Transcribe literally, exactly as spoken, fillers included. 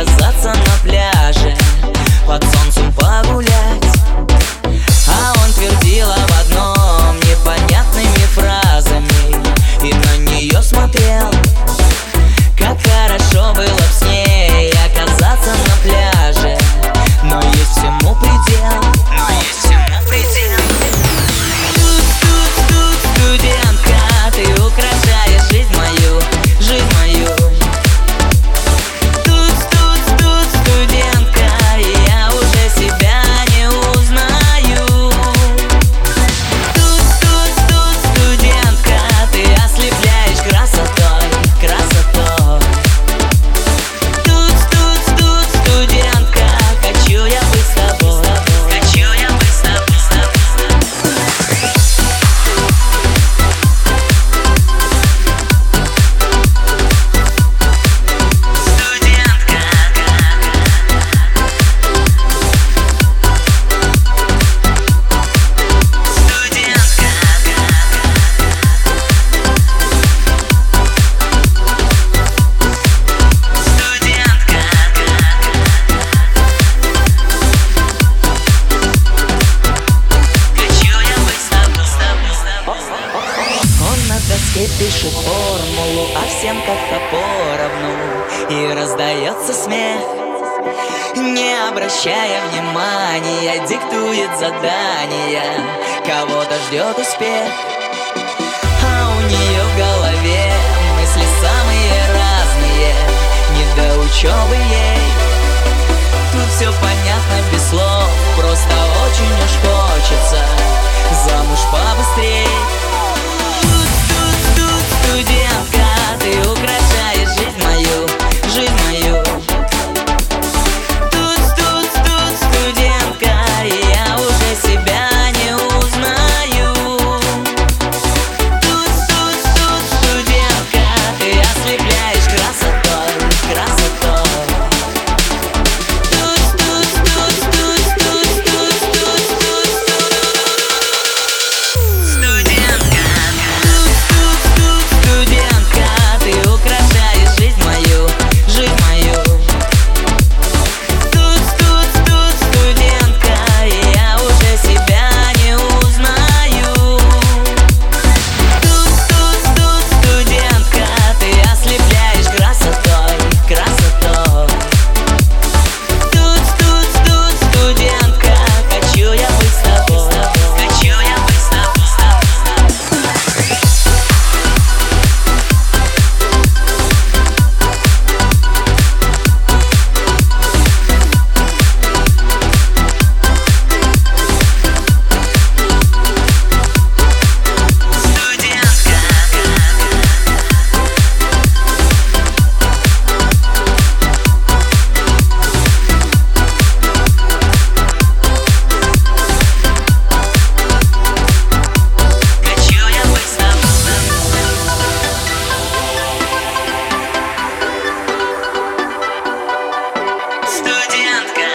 оказаться на пляже, под солнцем погулять. А он твердил об одном непонятными фразами и на нее смотрел. Как хорошо было б с ней оказаться на пляже, но есть всему предел. Но есть всему предел. Тут, тут, тут, студентка, ты украшаешь жизнь мою, жизнь мою. Тут, тут, тут, студентка, я уже себя не узнаю. Тут, тут, тут, студентка, ты ослепляешь красотой, красотой. Тут, тут, тут, студентка, хочу я быть с тобой, хочу я быть с тобой. Пишет формулу, а всем как-то поровну, и раздается смех. Не обращая внимания, диктует задания, кого-то ждет успех. А у нее в голове мысли самые разные, не до учебы ей. Тут все понятно без слов, просто очень уж хочется замуж побыстрей. Студентка, ты украшаешь жизнь мою, жизнь мою. Тут, тут, тут, студентка, я уже себя не узнаю. Тут, тут, тут, студентка, ты ослепляешь красотой, красотой. Тут, тут, тут, тут, тут, тут, тут, тут, студентка. Студентка, ты украшаешь жизнь мою, жизнь мою. Тут, тут, тут, студентка, я уже себя не узнаю. Тут, тут, тут, студентка, ты ослепляешь красотой, красотой. Тут, тут, тут, студентка, хочу я быть с тобой, хочу я быть с тобой. Студентка.